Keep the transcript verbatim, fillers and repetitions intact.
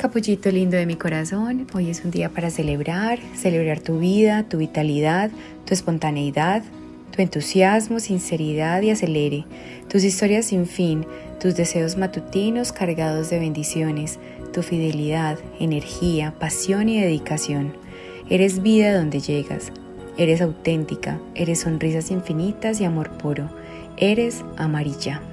Capullito lindo de mi corazón, hoy es un día para celebrar, celebrar tu vida, tu vitalidad, tu espontaneidad, tu entusiasmo, sinceridad y acelere, tus historias sin fin, tus deseos matutinos cargados de bendiciones, tu fidelidad, energía, pasión y dedicación. Eres vida donde llegas, eres auténtica, eres sonrisas infinitas y amor puro, eres amarilla.